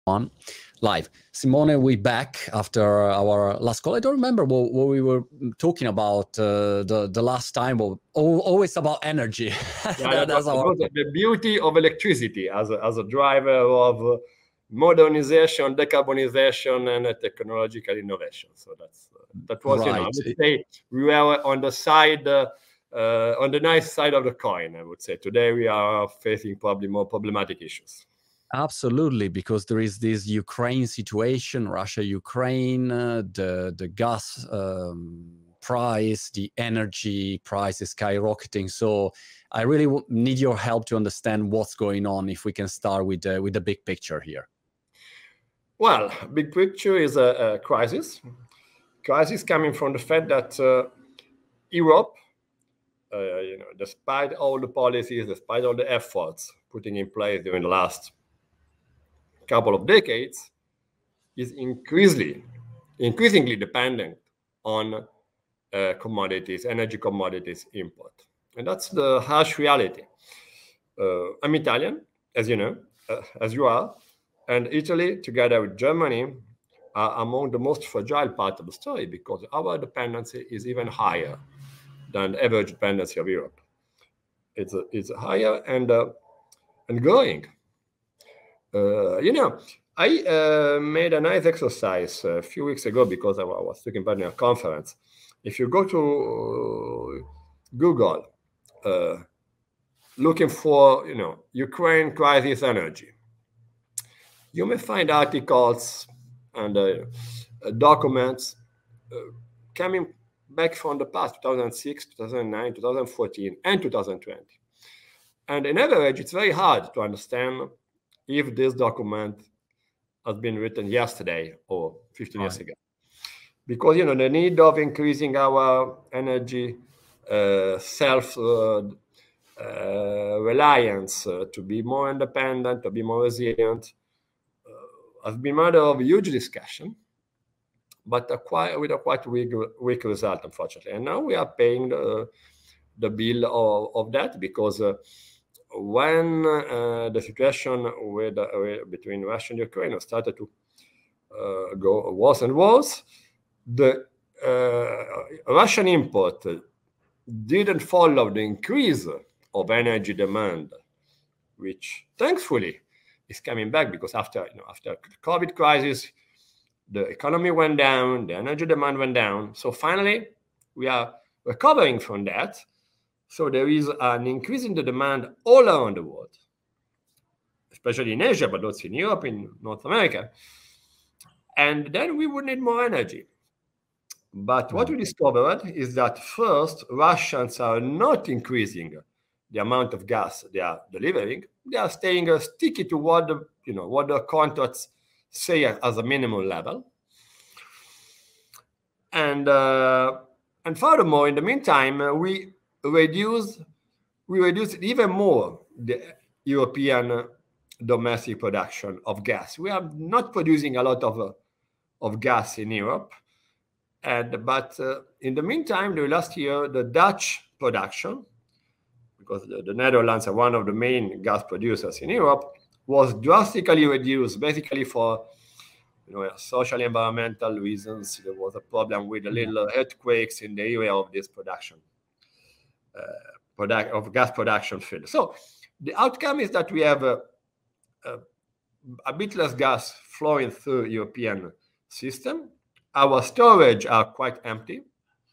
On live. Simone, we back after our last call. I don't remember what we were talking about the last time. Always about energy. That's the beauty of electricity as a driver of modernization, decarbonization, and technological innovation. So that was, right. I would say we were on the side, on the nice side of the coin, I would say. Today we are facing probably more problematic issues. Absolutely, because there is this Ukraine situation, Russia-Ukraine, the gas price, the energy price is skyrocketing. So I really need your help to understand what's going on. If we can start with the big picture here. Well, big picture is a crisis. Crisis coming from the fact that Europe, despite all the policies, despite all the efforts putting in place during the last couple of decades, is increasingly dependent on commodities, energy commodities import. And that's the harsh reality. I'm Italian, as you know, as you are, and Italy, together with Germany, are among the most fragile part of the story because our dependency is even higher than the average dependency of Europe. It's higher and growing. I made a nice exercise a few weeks ago because I was taking part in a conference. If you go to Google, looking for Ukraine crisis energy, you may find articles and documents coming back from the past, 2006, 2009, 2014, and 2020. And in average, it's very hard to understand if this document has been written yesterday or 15 years ago. Because, the need of increasing our energy self-reliance, to be more independent, to be more resilient, has been matter of huge discussion, but with a quite weak result, unfortunately. And now we are paying the bill of that because when the situation between Russia and Ukraine started to go worse and worse, the Russian import didn't follow the increase of energy demand, which thankfully is coming back because after the COVID crisis, the economy went down, the energy demand went down. So finally, we are recovering from that. So there is an increase in the demand all around the world, especially in Asia, but also in Europe, in North America. And then we would need more energy. But what we discovered is that first, Russians are not increasing the amount of gas they are delivering. They are staying sticky to what the contracts say as a minimum level. And furthermore, in the meantime, we reduced even more the European domestic production of gas. We are not producing a lot of gas in Europe, but in the meantime, the last year, the Dutch production, because the Netherlands are one of the main gas producers in Europe, was drastically reduced, basically for social environmental reasons. There was a problem with the little earthquakes in the area of this production. Of gas production field. So the outcome is that we have a bit less gas flowing through European system. Our storage are quite empty.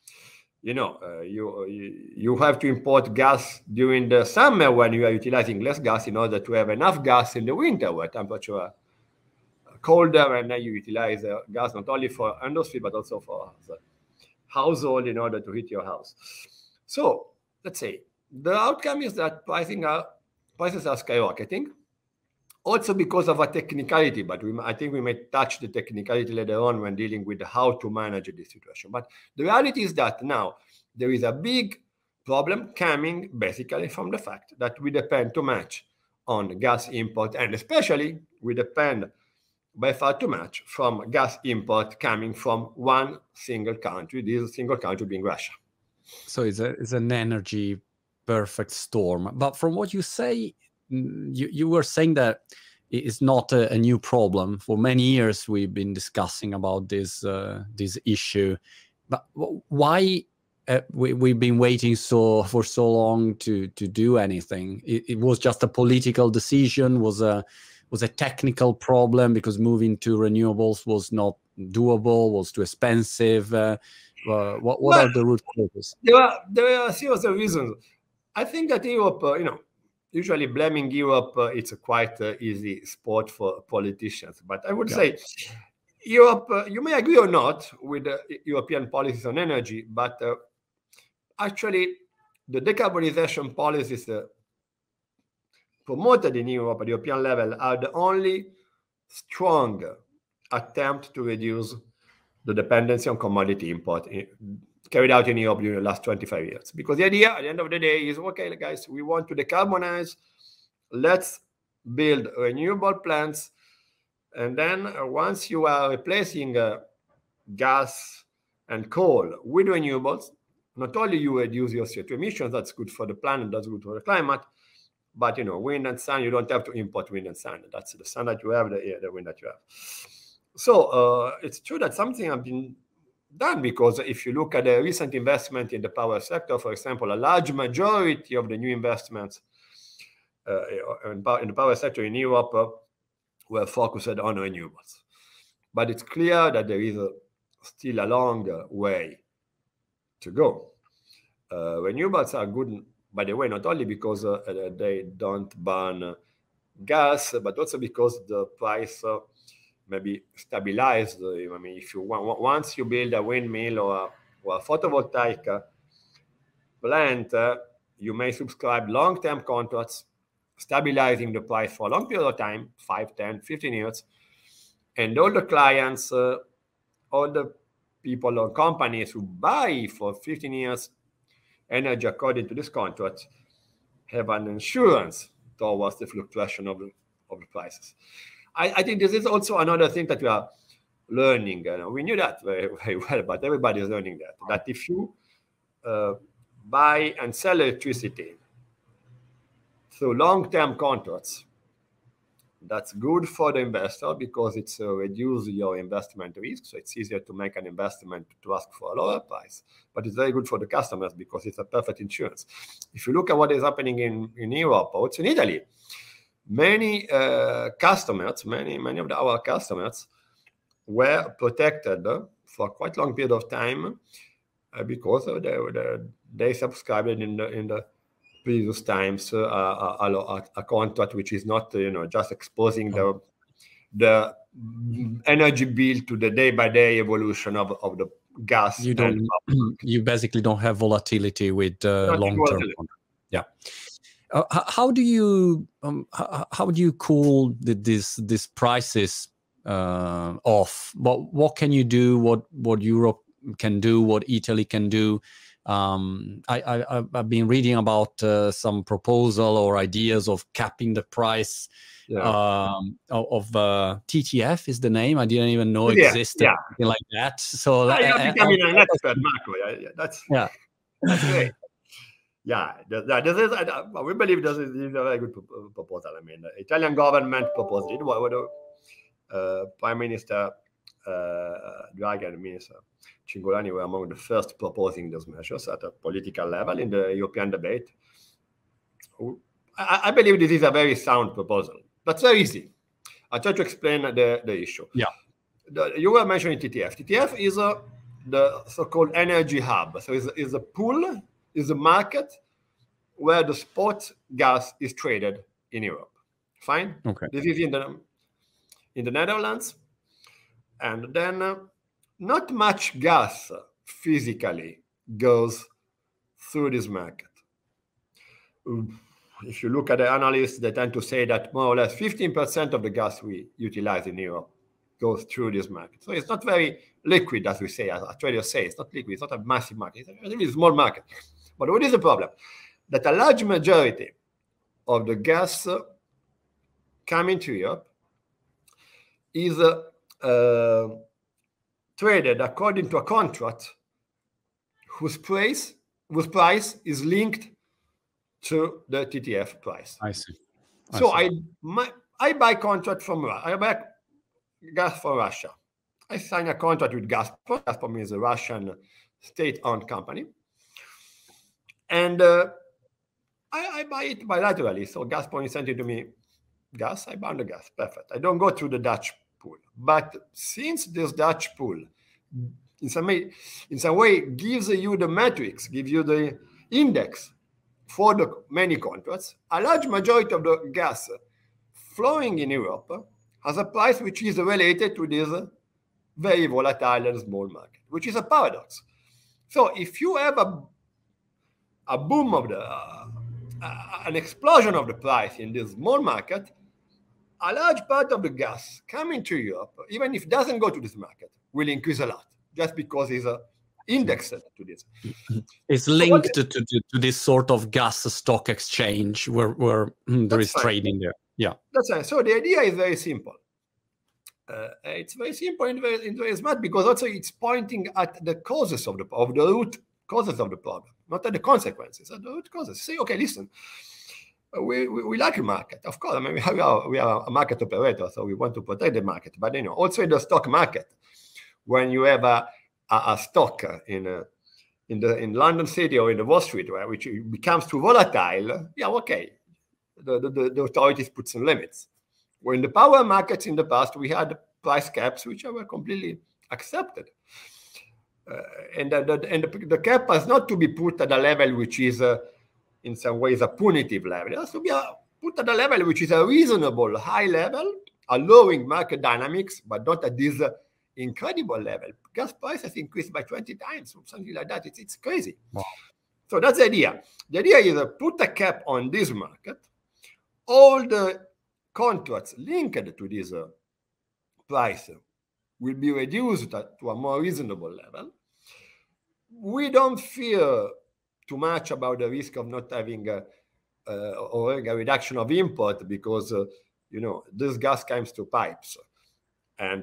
You have to import gas during the summer when you are utilizing less gas in order to have enough gas in the winter where temperature are colder, and then you utilize gas not only for industry but also for the household in order to heat your house. So let's say the outcome is that prices are skyrocketing, also because of a technicality, but I think we may touch the technicality later on when dealing with how to manage this situation. But the reality is that now there is a big problem coming basically from the fact that we depend too much on gas import, and especially we depend by far too much from gas import coming from one single country, this single country being Russia. So it's an energy perfect storm. But from what you say, you were saying that is not a new problem. For many years, we've been discussing about this issue. But why we've been waiting for so long to do anything? It was just a political decision, was a technical problem because moving to renewables was not doable, was too expensive. What are the root causes? There are a series of reasons. I think that Europe, usually blaming Europe, it's a quite easy sport for politicians. But I would say Europe, you may agree or not with European policies on energy, but actually the decarbonization policies promoted in Europe at the European level are the only strong attempt to reduce the dependency on commodity import carried out in Europe during the last 25 years. Because the idea at the end of the day is, okay, guys, we want to decarbonize. Let's build renewable plants. And then once you are replacing gas and coal with renewables, not only you reduce your CO2 emissions, that's good for the planet, that's good for the climate, but wind and sun, you don't have to import wind and sun. That's the sun that you have, the wind that you have. So it's true that something has been done, because if you look at the recent investment in the power sector, for example, a large majority of the new investments in the power sector in Europe were focused on renewables. But it's clear that there is still a long way to go. Renewables are good, by the way, not only because they don't burn gas, but also because the price maybe stabilized. I mean, if you once you build a windmill or a photovoltaic plant, you may subscribe long-term contracts, stabilizing the price for a long period of time, 5, 10, 15 years. And all the clients, all the people or companies who buy for 15 years energy according to this contract have an insurance towards the fluctuation of the prices. I think this is also another thing that we are learning. We knew that very, very well, but everybody is learning that if you buy and sell electricity through long-term contracts, that's good for the investor because it's reduces your investment risk. So it's easier to make an investment to ask for a lower price. But it's very good for the customers because it's a perfect insurance. If you look at what is happening in Europe, or it's in Italy, many customers, many of our customers were protected for quite a long period of time because they subscribed in the previous times a contract which is not just exposing the energy bill to the day-by-day evolution of the gas. You basically don't have volatility with long-term contract. Yeah. How do you cool these prices off? What can you do? What Europe can do? What Italy can do? I've been reading about some proposal or ideas of capping the price of TTF is the name. I didn't even know existed. Something like that. So you're becoming an expert, Marco. That's great. Yeah, we believe this is a very good proposal. I mean, the Italian government proposed it. Prime Minister Draghi and Minister Cingolani were among the first proposing those measures at a political level in the European debate. I believe this is a very sound proposal. That's very easy. I'll try to explain the issue. Yeah. You were mentioning TTF. TTF is the so-called energy hub. So it's a pool, is a market where the spot gas is traded in Europe. Fine? Okay. This is in the Netherlands. And then not much gas physically goes through this market. If you look at the analysts, they tend to say that more or less 15% of the gas we utilize in Europe goes through this market. So it's not very liquid, as we say, as traders say. It's not liquid. It's not a massive market. It's a really small market. But what is the problem? That a large majority of the gas coming to Europe is traded according to a contract whose price is linked to the TTF price. I see. So I buy contract from I buy gas from Russia. I sign a contract with Gazprom. Gazprom is a Russian state-owned company. And I buy it bilaterally. So Gazprom is sending to me gas, I buy the gas. Perfect. I don't go through the Dutch pool. But since this Dutch pool in some way gives you the metrics, gives you the index for the many contracts, a large majority of the gas flowing in Europe has a price which is related to this very volatile and small market, which is a paradox. So if you have a boom of an explosion of the price in this small market, a large part of the gas coming to Europe, even if it doesn't go to this market, will increase a lot, just because it's indexed to this. It's linked to this sort of gas stock exchange where there is trading there. Yeah, that's right. So the idea is very simple. It's very simple and very smart, because also it's pointing at the causes of the root causes of the problem, not at the consequences, at the root causes. Say, okay, listen, we like the market, of course. I mean, we are a market operator, so we want to protect the market. But also in the stock market, when you have a stock in London City or in the Wall Street, which becomes too volatile, yeah, okay, the authorities put some limits. Where in the power markets in the past, we had price caps which were completely accepted. And the cap has not to be put at a level which is, in some ways, a punitive level. It has to be put at a level which is a reasonable high level, allowing market dynamics, but not at this incredible level. Gas prices increased by 20 times, or something like that. It's crazy. Wow. So that's the idea. The idea is put a cap on this market. All the contracts linked to this price will be reduced to a more reasonable level. We don't fear too much about the risk of not having or a reduction of import, because this gas comes to pipes, and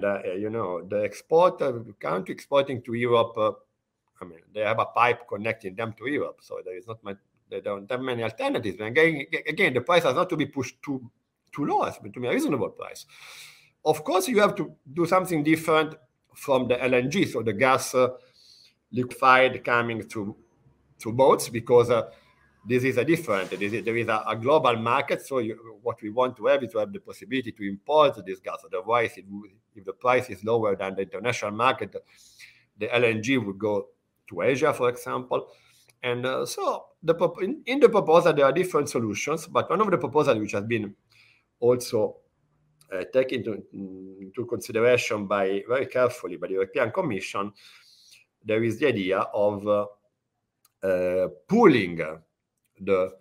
the country exporting to Europe, I mean, they have a pipe connecting them to Europe, so there is not much. They don't have many alternatives. And again, the price has not to be pushed too low, but to be a reasonable price. Of course, you have to do something different from the LNG, so the gas liquefied coming to boats, because this is a different. There is a global market, so what we want to have is to have the possibility to import this gas. Otherwise, if the price is lower than the international market, the LNG would go to Asia, for example. And so in the proposal, there are different solutions, but one of the proposals which has been also taken into consideration very carefully by the European Commission, there is the idea of pooling the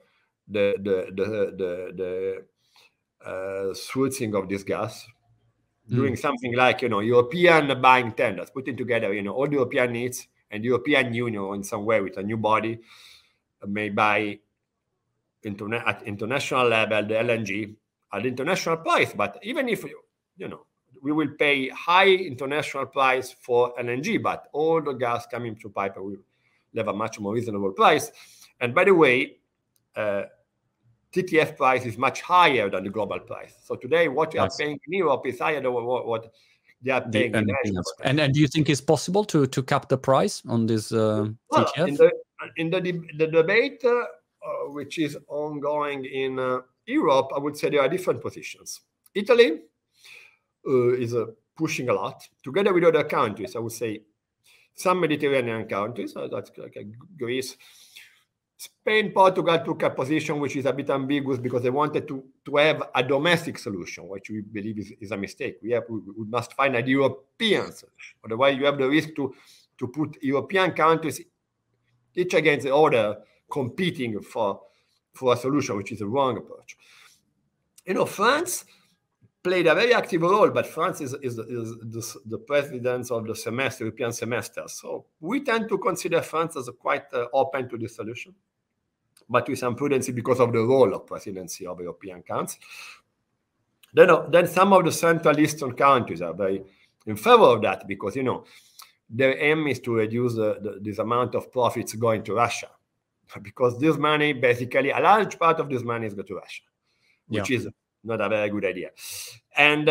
sourcing of this gas, doing something like European buying tenders, putting together all the European needs, and the European Union in some way with a new body may buy at international level the LNG at international price. But even if we will pay high international price for LNG, but all the gas coming through pipe will have a much more reasonable price. And by the way, TTF price is much higher than the global price. So today, what you are paying in Europe is higher than what they are paying in Asia. And do you think it's possible to cap the price on this TTF? In the debate which is ongoing in Europe, I would say there are different positions. Italy is pushing a lot, together with other countries. I would say some Mediterranean countries, that's like Greece. Spain, Portugal took a position which is a bit ambiguous, because they wanted to have a domestic solution, which we believe is a mistake. We must find a European solution. Otherwise, you have the risk to put European countries each against the other, competing for a solution, which is a wrong approach. France played a very active role, but France is the president of the European semester. So we tend to consider France as quite open to this solution, but with some prudency because of the role of presidency of European Council. Then some of the Central Eastern countries are very in favor of that, because their aim is to reduce this amount of profits going to Russia, because this money, basically a large part of this money is going to Russia, which is not a very good idea. And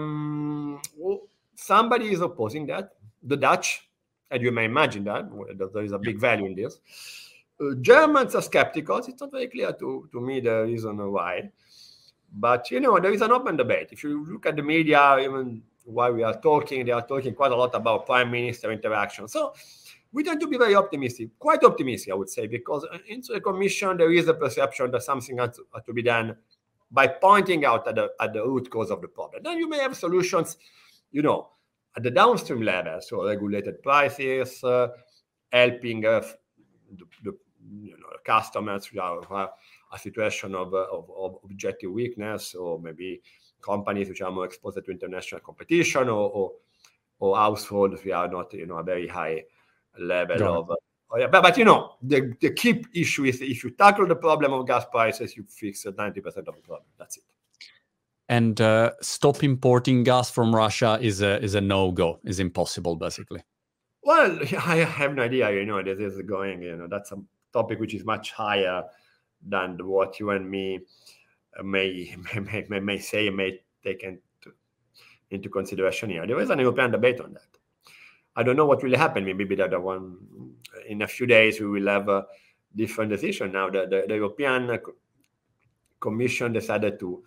somebody is opposing that. The Dutch, and you may imagine that there is a big value in this. Germans are skeptical. It's not very clear to me the reason why. But, there is an open debate. If you look at the media, even while we are talking, they are talking quite a lot about prime minister interaction. So we tend to be very optimistic, quite optimistic, I would say, because into the Commission, there is a perception that something has to be done by pointing out at the root cause of the problem. Then you may have solutions, at the downstream level, so regulated prices, helping the customers who have a situation of objective weakness, or maybe companies which are more exposed to international competition, or households who are not, a very high level of. But the key issue is if you tackle the problem of gas prices, you fix 90% of the problem. That's it. And stop importing gas from Russia is a no-go. Is impossible, basically. Well, I have no idea. This is going. That's a topic which is much higher than what you and me may say, may take into consideration here. There is an European debate on that. I don't know what will happen. Maybe that in a few days we will have a different decision. Now the European Commission decided to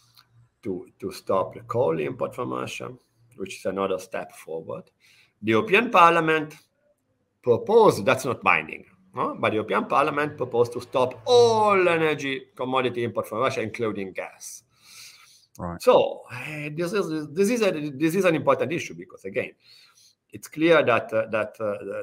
stop the coal import from Russia, which is another step forward. The European Parliament proposed, that's not binding, but the European Parliament proposed to stop all energy commodity import from Russia, including gas. Right. So this is an important issue, because again, it's clear that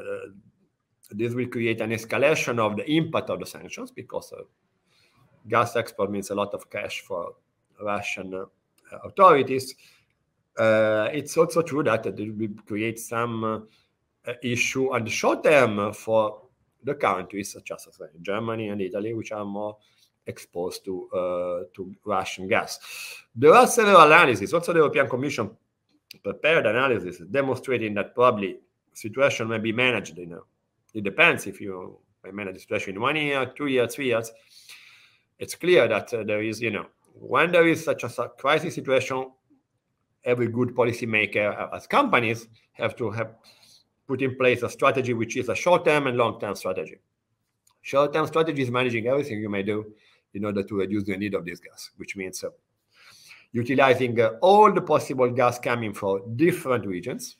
this will create an escalation of the impact of the sanctions, because gas export means a lot of cash for Russian authorities. It's also true that it will create some issue on the short term for the countries such as Germany and Italy, which are more exposed to Russian gas. There are several analyses. Also, the European Commission prepared analysis demonstrating that probably situation may be managed. It depends if you manage the situation in 1 year, 2 years, 3 years. It's clear that there is, when there is such a crisis situation, every good policymaker, as companies, have to put in place a strategy which is a short-term and long-term strategy. Short-term strategy is managing everything you may do in order to reduce the need of this gas, which means utilizing all the possible gas coming from different regions.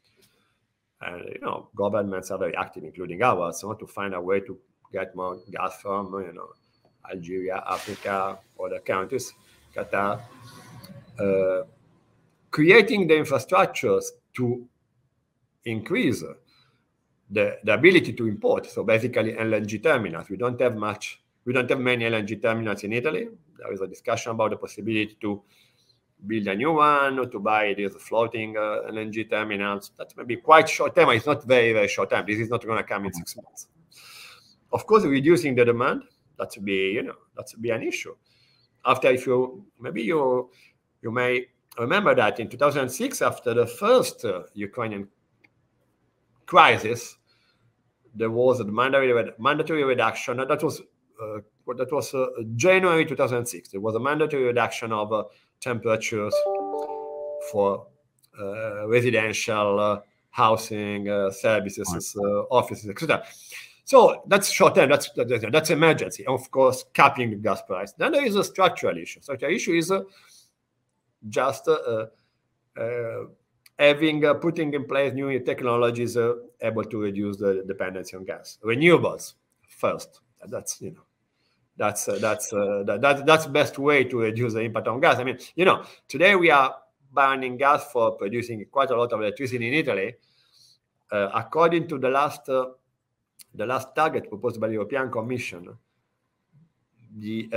And, governments are very active, including ours, to find a way to get more gas from, Algeria, Africa, other countries, Qatar. Creating the infrastructures to increase the ability to import. So basically LNG terminals. We don't have many LNG terminals in Italy. There is a discussion about the possibility to build a new one, or to buy these floating LNG terminals. That may be quite short term. It's not very, very short term. This is not going to come in 6 months. Of course, reducing the demand, that would be an issue. After, you may remember that in 2006, after the first Ukrainian crisis, there was a mandatory reduction. That was January 2006. There was a mandatory reduction of temperatures for residential housing, services, offices, etc. So that's short term. That's emergency. Of course, capping the gas price. Then there is a structural issue. So the issue is just putting in place new technologies able to reduce the dependency on gas. Renewables first. That's the best way to reduce the impact on gas. I mean, today we are burning gas for producing quite a lot of electricity in Italy. According to the last target proposed by the European Commission, the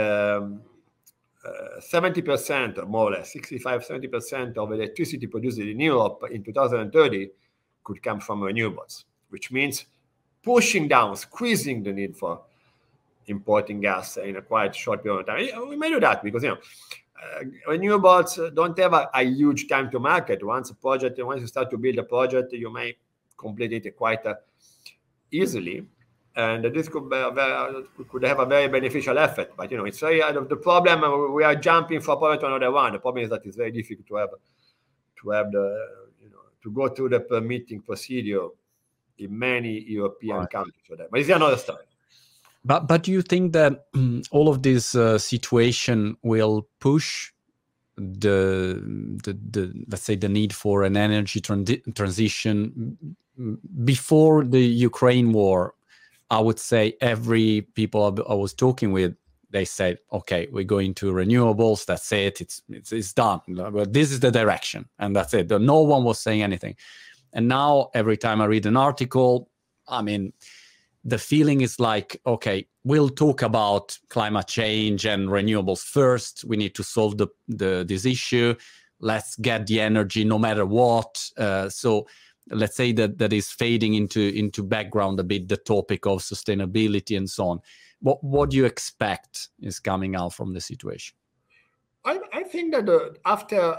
70%, more or less, 65-70% of electricity produced in Europe in 2030 could come from renewables, which means pushing down, squeezing the need for importing gas in a quite short period of time. We may do that because, renewables don't have a huge time to market. Once you start to build a project, you may complete it quite easily. And this could have a very beneficial effect. But it's very the problem. We are jumping from point to another one. The problem is that it's very difficult to have the to go through the permitting procedure in many European countries for that. But it's another story. But do you think that all of this situation will push the let's say the need for an energy transition? Before the Ukraine war, I would say every people I was talking with, they said, okay, we're going to renewables, that's it, it's done, but this is the direction, and that's it. No one was saying anything. And now every time I read an article, I mean, the feeling is like, okay, we'll talk about climate change and renewables first. We need to solve this issue. Let's get the energy no matter what. So let's say that is fading into background a bit, the topic of sustainability and so on. What do you expect is coming out from the situation? I think that after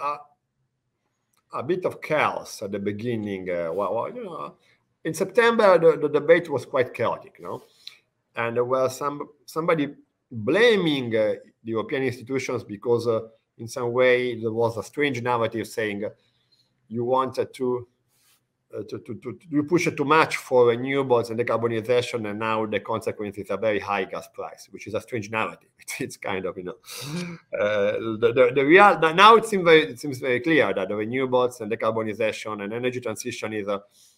a bit of chaos at the beginning, in September, the debate was quite chaotic, and there was somebody blaming the European institutions because in some way there was a strange narrative saying you wanted to push it too much for renewables and decarbonization, and now the consequence is a very high gas price, which is a strange narrative. It's kind of the real. Now it seems very clear that the renewables and decarbonization and energy transition is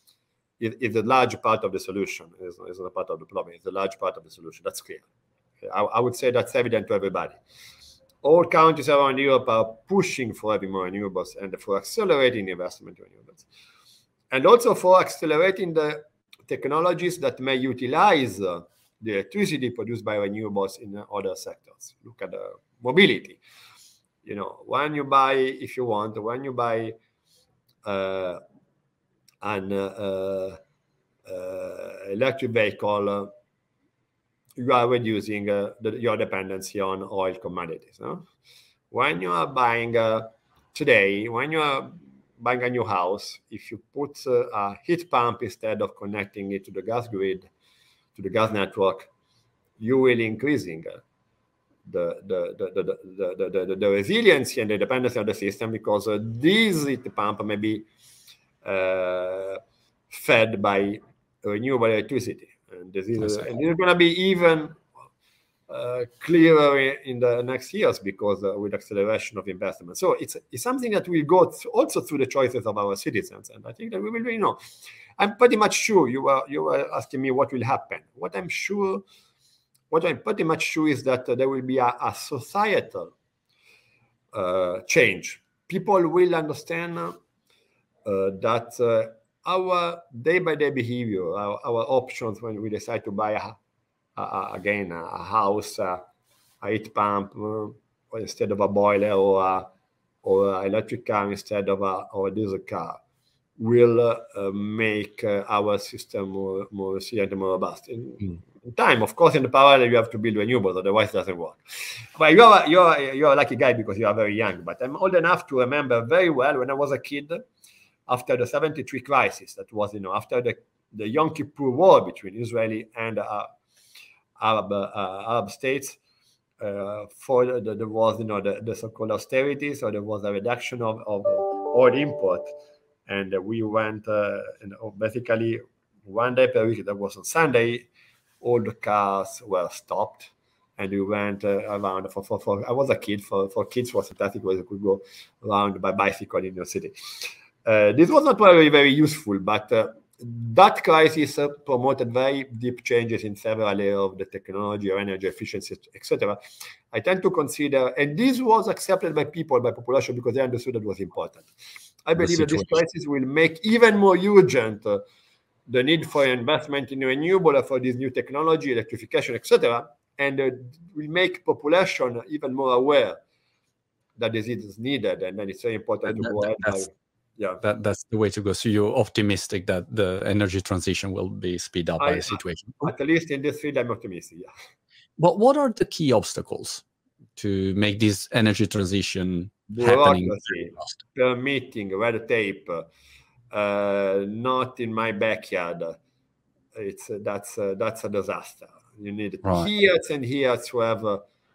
a large part of the solution. It's not a part of the problem. It's a large part of the solution. That's clear. I would say that's evident to everybody. All countries around Europe are pushing for having more renewables and for accelerating the investment in renewables. And also for accelerating the technologies that may utilize the electricity produced by renewables in other sectors. Look at the mobility. When you buy an electric vehicle, you are reducing your dependency on oil commodities. When you are buying today, when you are buying a new house, if you put a heat pump instead of connecting it to the gas grid, to the gas network, you will increasing the resiliency and the dependency of the system, because this heat pump may be fed by renewable electricity, and this is going to be even clearer in the next years because with acceleration of investment. So it's something that will go also through the choices of our citizens, and I think that we will. I'm pretty much sure you were asking me what will happen. What I'm pretty much sure is that there will be a societal change. People will understand that our day-by-day behavior, our options when we decide to buy a house, a heat pump instead of a boiler, or an electric car instead of a diesel car, will make our system more resilient and more robust. In time, of course, in the parallel, you have to build renewables, otherwise it doesn't work. But you're a lucky guy because you are very young. But I'm old enough to remember very well when I was a kid, after the 73 crisis, that was after the Yom Kippur War between Israeli and Arab states. There was the so-called austerity, so there was a reduction of oil import, and we went basically one day per week. That was on Sunday. All the cars were stopped, and we went around. I was a kid. For kids, was fantastic because you could go around by bicycle in your city. This was not very, very useful, but that crisis promoted very deep changes in several areas of the technology or energy efficiency, etc. I tend to consider, and this was accepted by population, because they understood that it was important. I believe that this crisis will make even more urgent the need for investment in renewable, for this new technology, electrification, etc., and will make population even more aware that this is needed, and then it's very important to go ahead. That's the way to go. So you're optimistic that the energy transition will be speed up by the situation? At least in this field, I'm optimistic, yeah. But what are the key obstacles to make this energy transition happening? Permitting, red tape, not in my backyard, that's a disaster. You need Right. years and years to have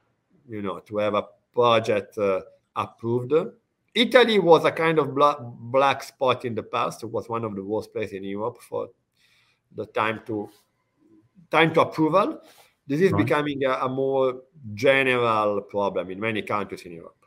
a project approved. Italy was a kind of black spot in the past. It was one of the worst places in Europe for the time to approval. This is Right. becoming a more general problem in many countries in Europe.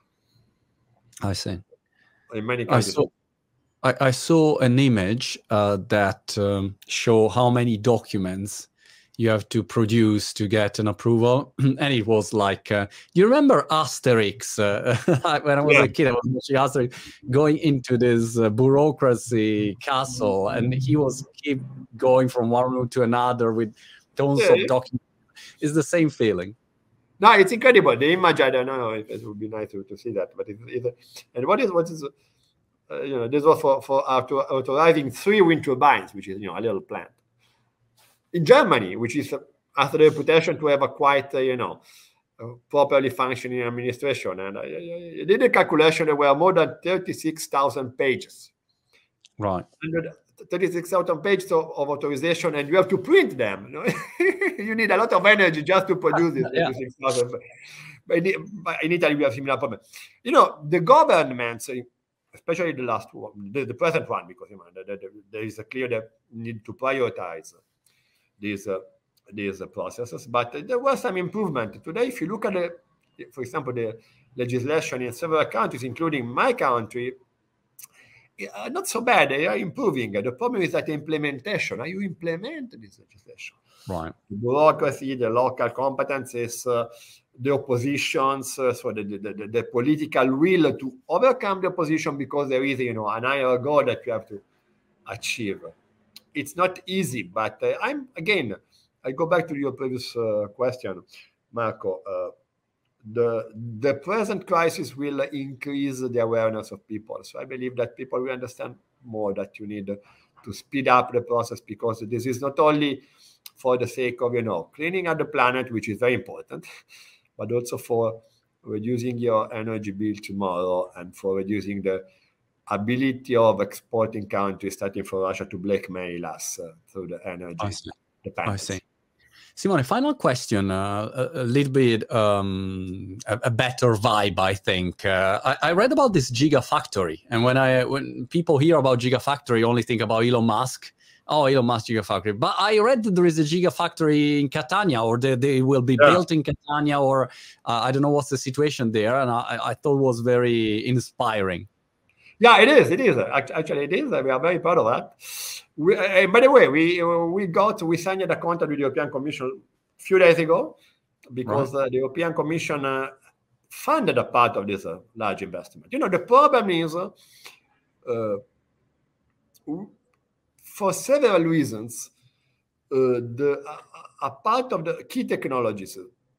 I see. In many countries. I saw an image that show how many documents you have to produce to get an approval, and it was like, do you remember Asterix? When I was a kid, I was watching Asterix going into this bureaucracy castle, and he was keep going from one room to another with tons of documents. It's the same feeling. No, it's incredible. The image, I don't know if it would be nice to see that, but and what is this was for authorizing 3 wind turbines, which is a little plant in Germany, which has the reputation to have a quite properly functioning administration. And I did a calculation. There were more than 36,000 pages. Right. 36,000 pages of authorization, and you have to print them. You need a lot of energy just to produce this 36,000. But in Italy, we have similar problem. The governments, especially the last one, the present one, because there is a clear need to prioritize these processes. But there was some improvement. Today, if you look at for example, the legislation in several countries, including my country, not so bad. They are improving. The problem is that the implementation. How you implement this legislation? Right. The bureaucracy, the local competences, the oppositions, so the political will to overcome the opposition, because there is an higher goal that you have to achieve. It's not easy, but I go back to your previous question, Marco. The present crisis will increase the awareness of people. So I believe that people will understand more that you need to speed up the process, because this is not only for the sake of cleaning up the planet, which is very important, but also for reducing your energy bill tomorrow, and for reducing the ability of exporting countries, starting from Russia, to blackmail us through the energy dependency. I see. Simone, final question, a little bit a better vibe, I think. I read about this Gigafactory, and when people hear about Gigafactory, only think about Elon Musk. Oh, Elon Musk Gigafactory. But I read that there is a Gigafactory in Catania, or they will be built in Catania, or I don't know what's the situation there, and I thought it was very inspiring. Yeah, it is. It is. Actually, it is. We are very proud of that. By the way, we signed a contract with the European Commission a few days ago, because the European Commission funded a part of this large investment. The problem is, for several reasons, a part of the key technologies,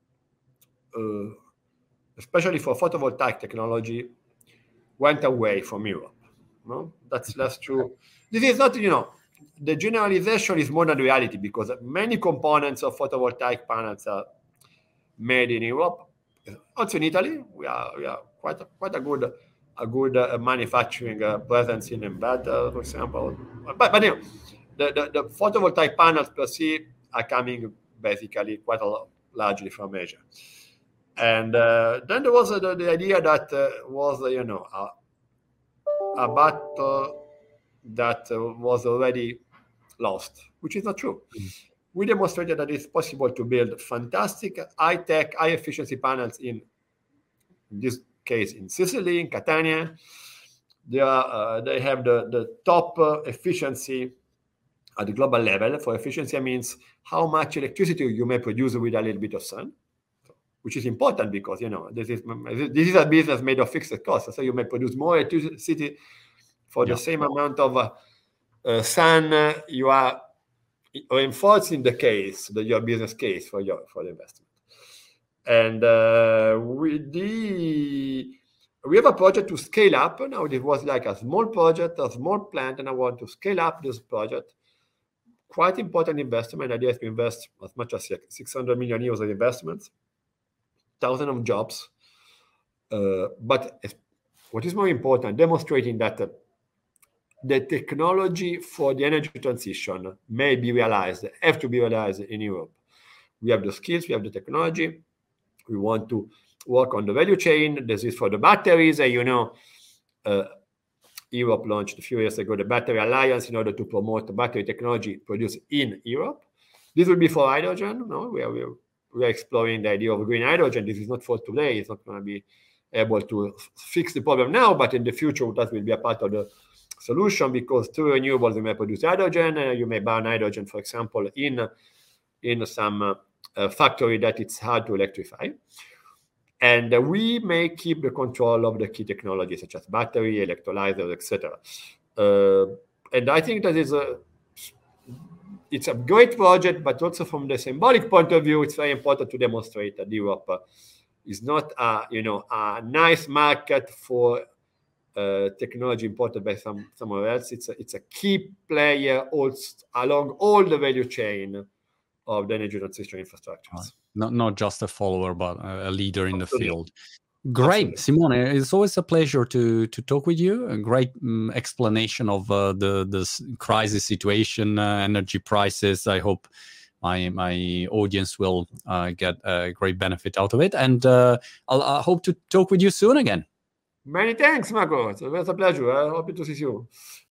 especially for photovoltaic technology, went away from Europe. No, that's true. This is not, the generalization is more than reality, because many components of photovoltaic panels are made in Europe. Also in Italy, we are quite a good manufacturing presence in inverter, for example. But the photovoltaic panels per se are coming basically quite largely from Asia. And then there was the idea that was a battle that was already lost, which is not true. We demonstrated that it's possible to build fantastic, high-tech, high-efficiency panels in this case in Sicily, in Catania. They have the top efficiency at the global level. For efficiency means how much electricity you may produce with a little bit of sun, which is important, because this is a business made of fixed costs. So you may produce more electricity for the same amount of sun. You are reinforcing your business case for the investment. And we have a project to scale up. Now, it was like a small project, a small plant, and I want to scale up this project. Quite important investment. The idea is to invest as much as 600 million euros of investments, thousands of jobs. But what is more important, demonstrating that the technology for the energy transition may be realized, have to be realized in Europe. We have the skills, we have the technology. We want to work on the value chain. This is for the batteries. Europe launched a few years ago the Battery Alliance in order to promote the battery technology produced in Europe. This will be for hydrogen. No, we are exploring the idea of green hydrogen. This is not for today. It's not going to be able to fix the problem now, but in the future that will be a part of the solution, because through renewables you may produce hydrogen, you may burn hydrogen, for example, in some factory that it's hard to electrify. And we may keep the control of the key technologies such as battery, electrolyzers, etc. And I think that it's a great project, but also from the symbolic point of view, it's very important to demonstrate that Europe is not a nice market for technology imported by somewhere else. It's a key player also along all the value chain of the energy transition infrastructures. Not just a follower, but a leader in the field. Great. Absolutely. Simone, it's always a pleasure to talk with you. A great explanation of the crisis situation, energy prices. I hope my audience will get a great benefit out of it. And I hope to talk with you soon again. Many thanks, Marco. It was a pleasure. I hope to see you.